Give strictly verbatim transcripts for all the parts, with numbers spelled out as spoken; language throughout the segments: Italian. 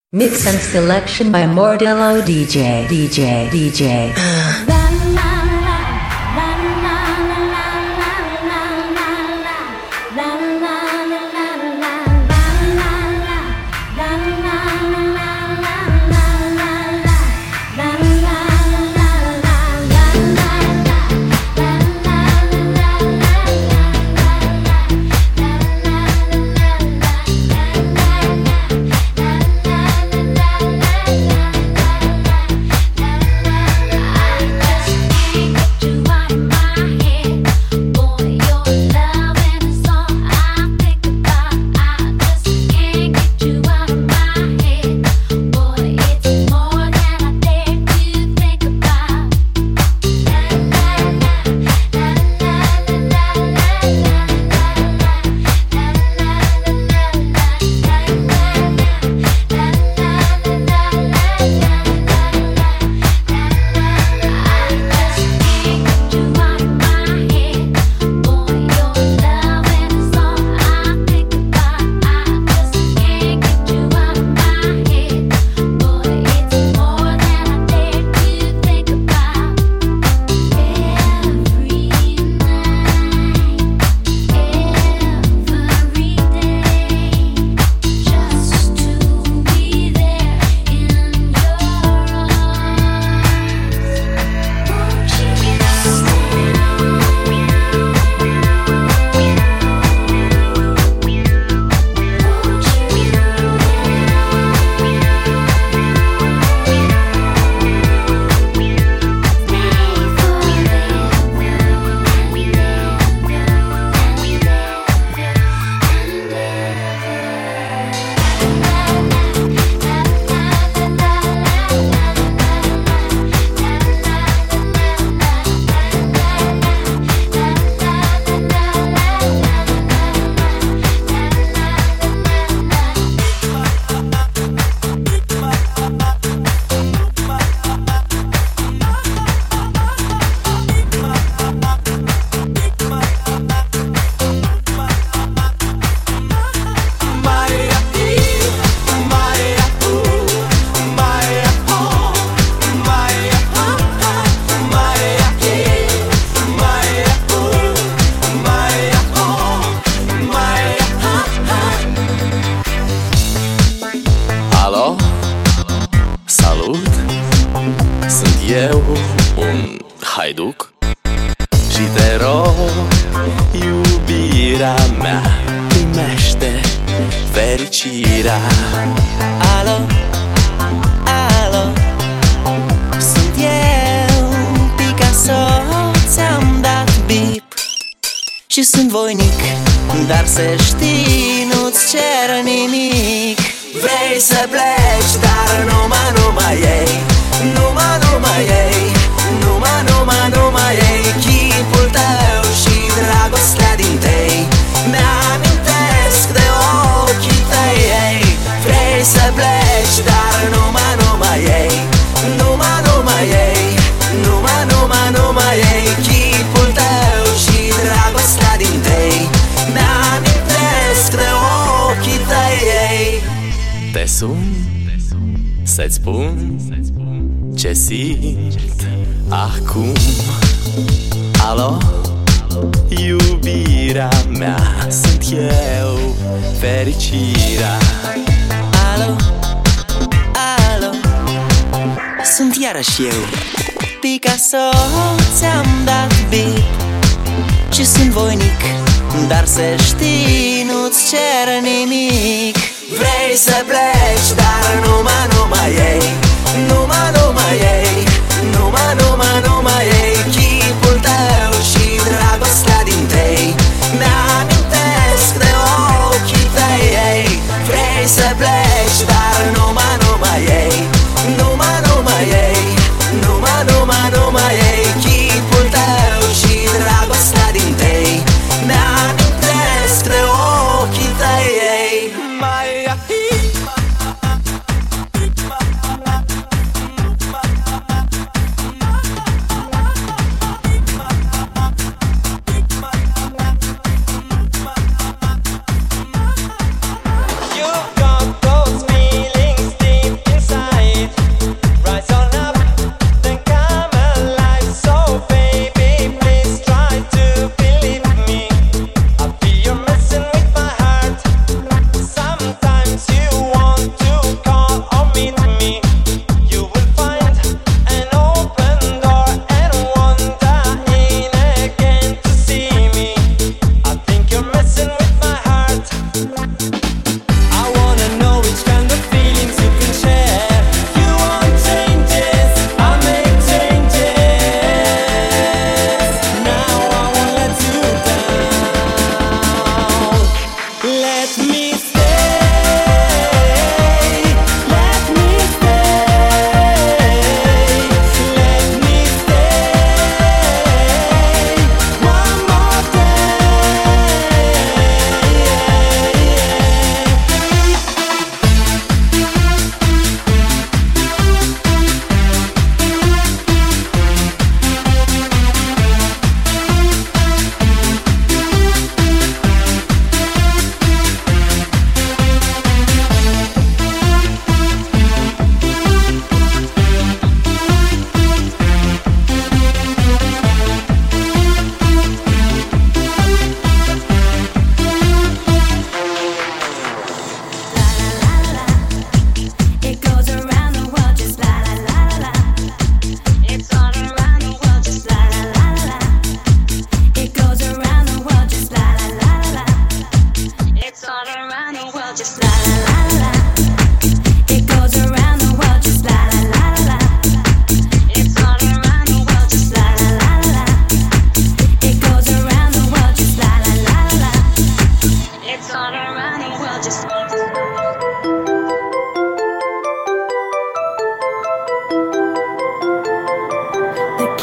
Mix and selection by Mordello D J, D J, D J. haiduc și te rog, iubirea mea, primește fericirea. Alo, alo, sunt eu, Picasso, ți-am dat bip și sunt voinic, dar să știi, nu-ți cer nimic. Vrei să pleci, dar numai, numai ei, numai, numai ei, numai, numai, numai ei, chipul tău și dragostea din tei mi-amintesc de ochii tăi, ei. Vrei să pleci, dar numai, numai ei, numai, numai ei, numai, numai, numai ei, chipul tău și dragostea din tei mi-amintesc de ochii tăi, ei. Te sun să-ți spun ce simt acum. Alo, iubirea mea, sunt eu, fericirea. Alo, alo, sunt iarăși eu, Picasso, ți-am dat bip și sunt voinic, dar să știi, nu-ți cer nimic. Vrei să pleci, dar numai, numai ei, numai, numai ei, numai, numai, numai ei, chipul tău și dragostea din tei mi-amintesc de ochii tăi, ei. Vrei să pleci, dar numai, numai ei, numai, numai ei, numai, numai, numai ei, chipul tău și dragostea din tei mi-amintesc de ochii tăi, ei. Mai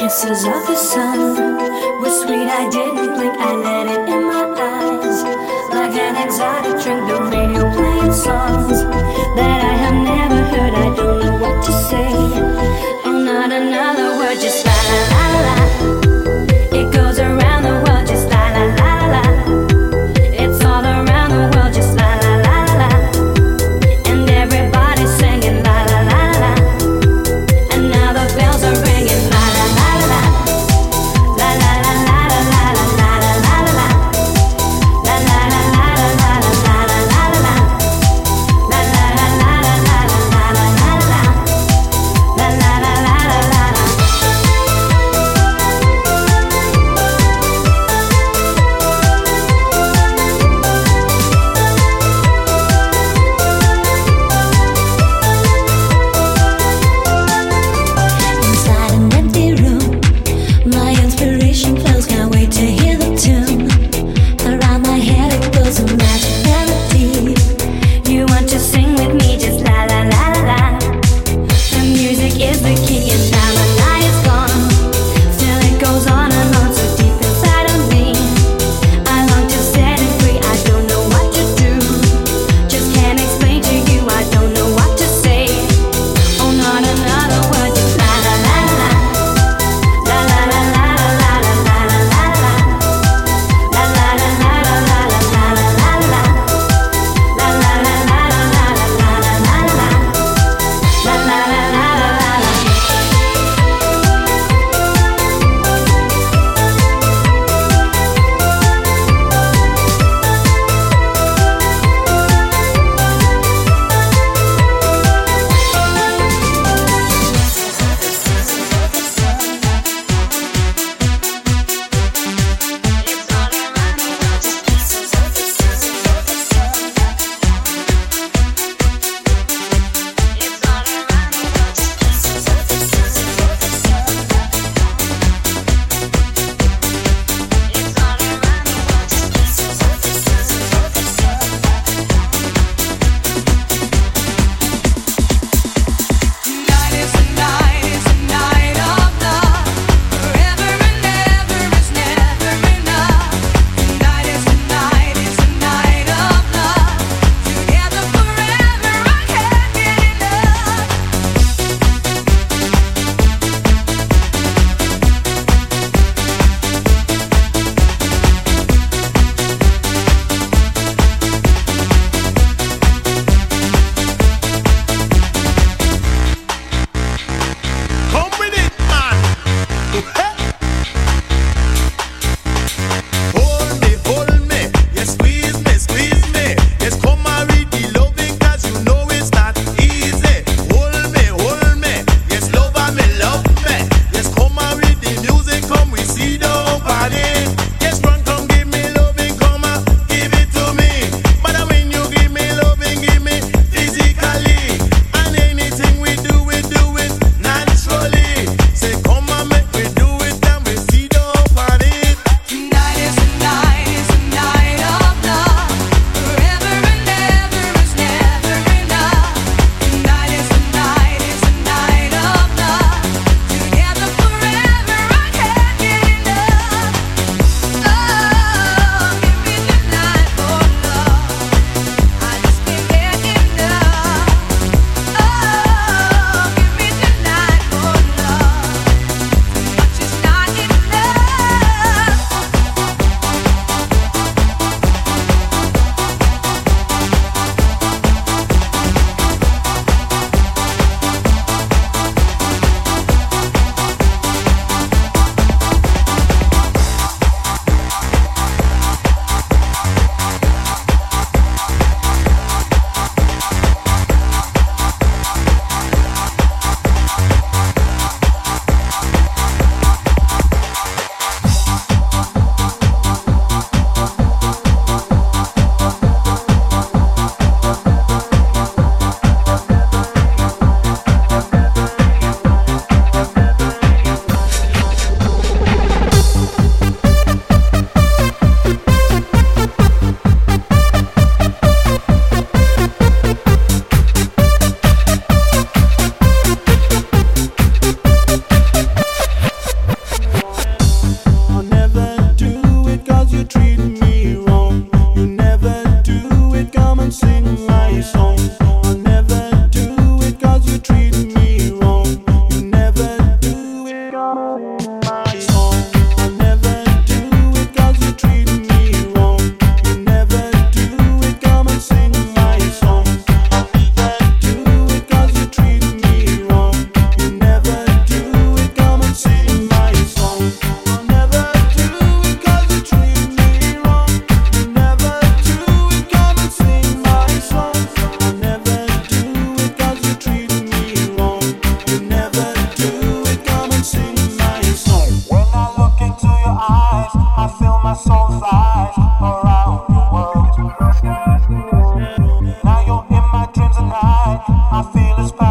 Kisses of the sun were sweet, I didn't blink, I let it in my eyes. Like an exotic drink, the radio playing songs that I have never heard, I don't know what to say. Oh, not another word, just la la la la la. It goes around the world, just la la la la la. It's all around the world, just la la la la la. And everybody's singing la la la la la. And now the bells are ringing la la la la la. La la la la la la la la la la la. La la la la la la la la la la la. La la la la la la la la la la.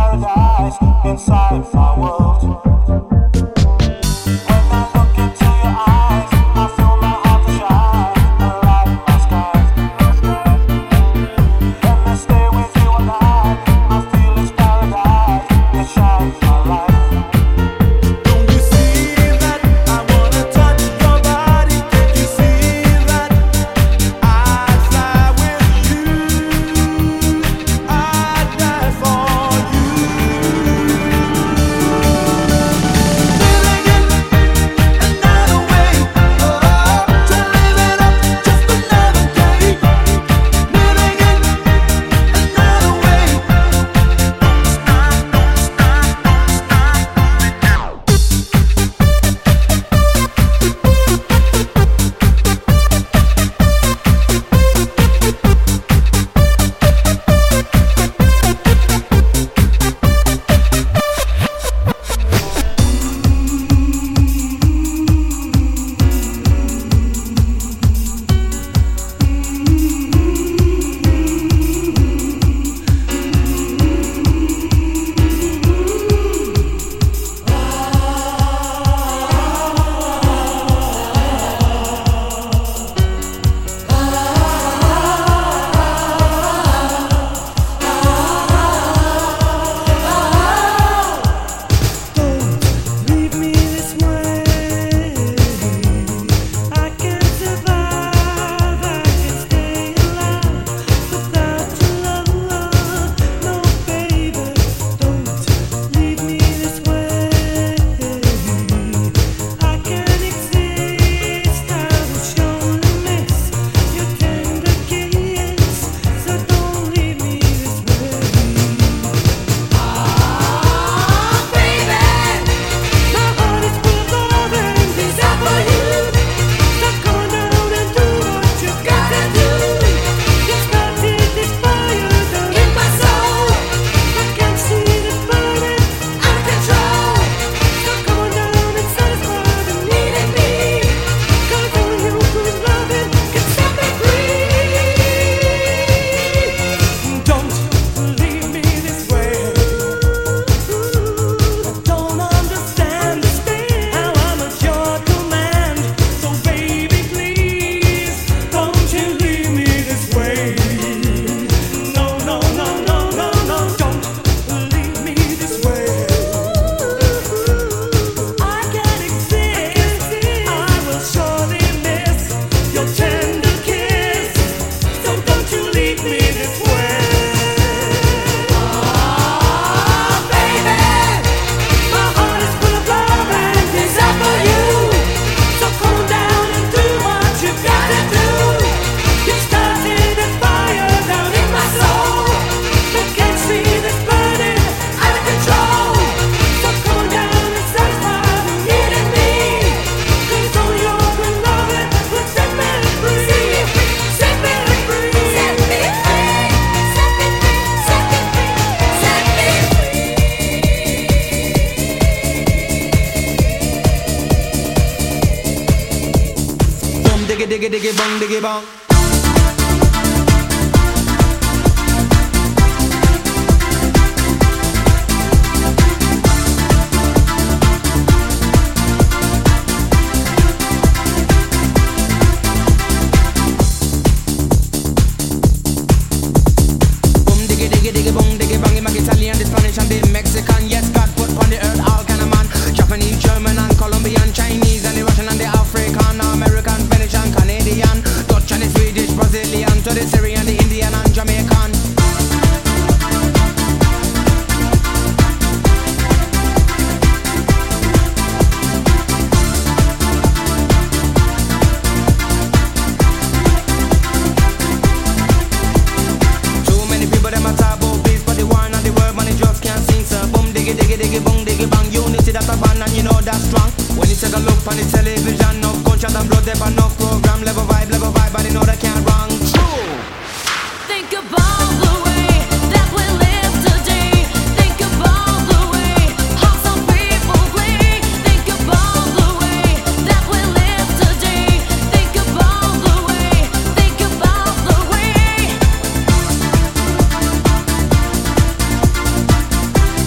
paradise inside my world. When I look into your eyes, I feel my heart to shine, a light in my sky. Let me stay with you all night, I feel it's paradise, it shines my light. diggy diggy bong diggy bong. Italian, the Spanish and the Mexican. Yes, God put on the earth all kind of man. Japanese, German and Colombian, Chinese and the Russian and the African, American, Spanish and Canadian, Dutch and the Swedish, Brazilian, to the Syrian, the Indian and Jamaican. Too many people them a talk about peace, but the war and the world money just can't sing. So boom diggy diggy diggy boom diggy bang. Unity that's a band and you know that's strong. When you take a look on the television, no gunshot and blood, there but no program. Level vibe, level vibe, but you know that can't wrong. True. Think about the way that we live today. Think about the way how some people play. Think about the way that we live today. Think about the way. Think about the way.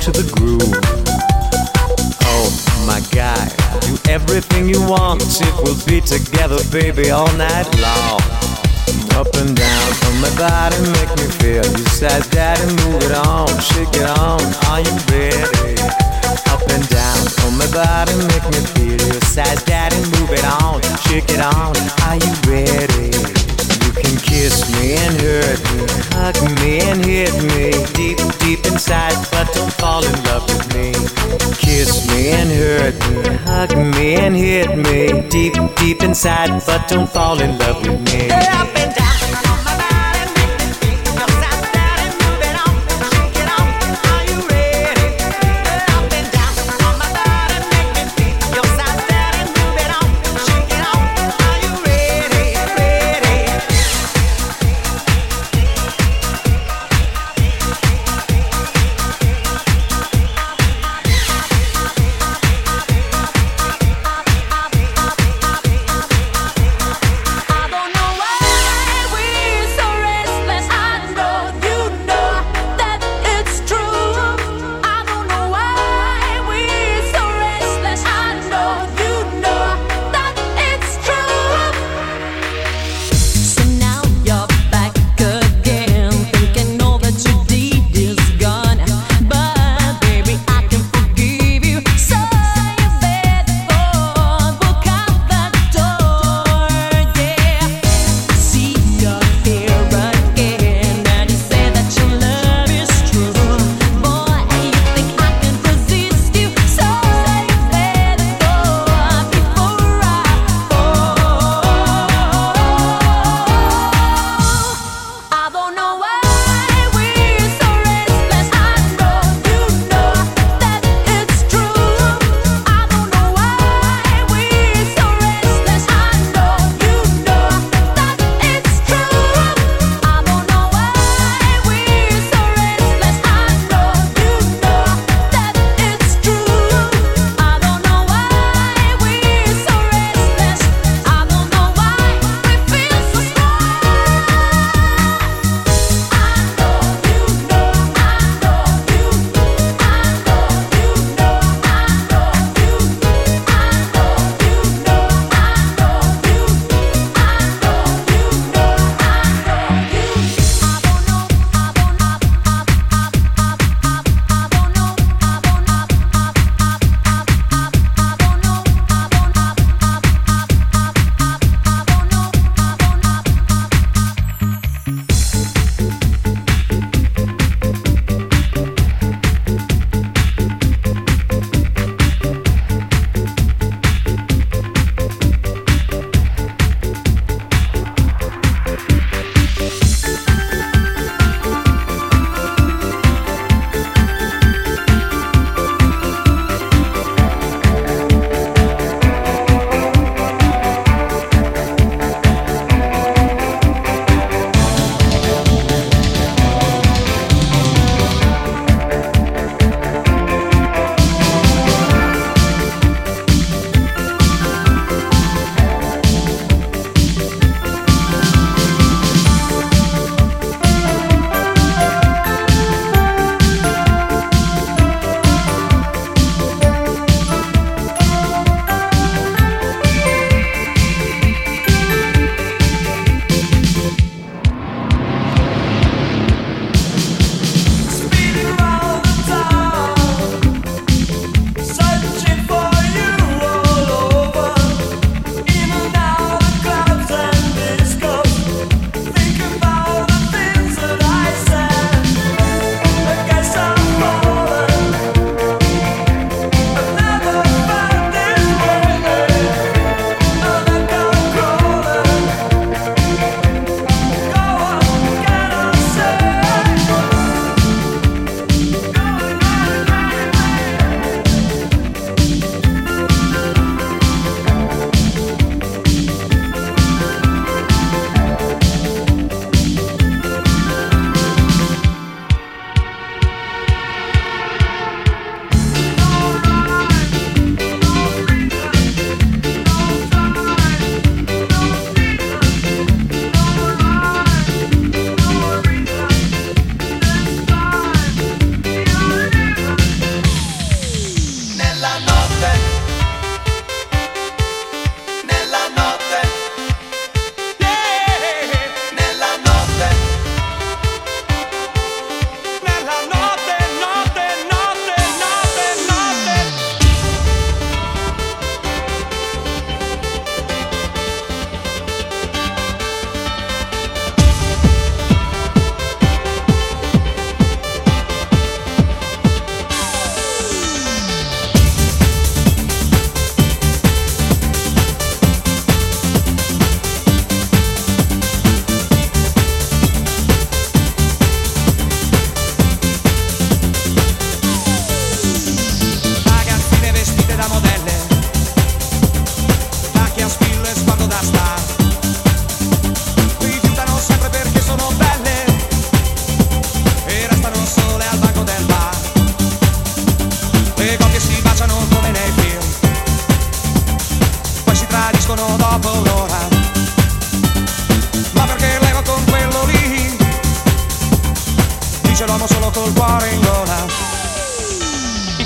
to the groove. Oh my God, do everything you want if we'll be together, baby, all night long. Up and down on my body, make me feel. You said daddy, move it on, shake it on, are you ready? Up and down on my body, make me feel. You said daddy, move it on, shake it on, are you ready? You can kiss me and hurt me, hug me and hit me deep, deep inside, but don't fall in love with me. Kiss me and hurt me, hug me and hit me deep, deep inside, but don't fall in love with me. Up and down. I don't know why.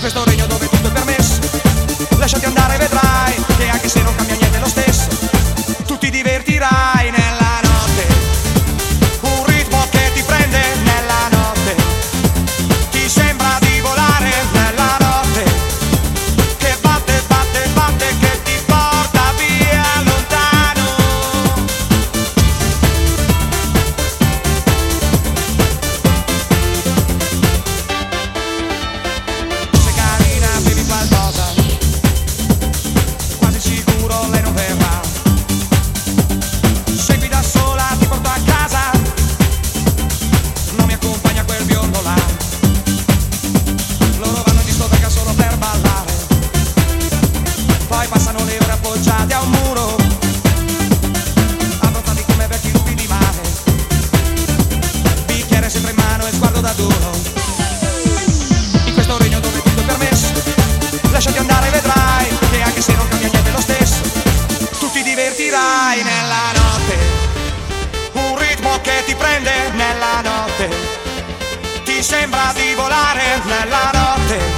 questo regno dove tutto è permesso, lasciati andare, vedrai che anche se non cambia niente è lo stesso, tu ti divertirai nella notte, un ritmo che ti prende nella notte, ti sembra di volare nella notte, che batte, batte, batte, che ti porta via lontano. Se carina bevi qualcosa, quasi sicuro lei non verrà. Segui da sola, ti porto a casa, non mi accompagna quel biondo là. Loro vanno in discoteca solo per ballare, poi passano le ore appoggiate a un muro, abbronzati come vecchi lupi di mare, bicchiere sempre in mano e sguardo da duro. In questo regno dove tutto è permesso, lasciati andare, vedrai che anche se non cambia niente è lo stesso, tu ti divertirai nella notte, un ritmo che ti prende nella notte, ti sembra di volare nella notte,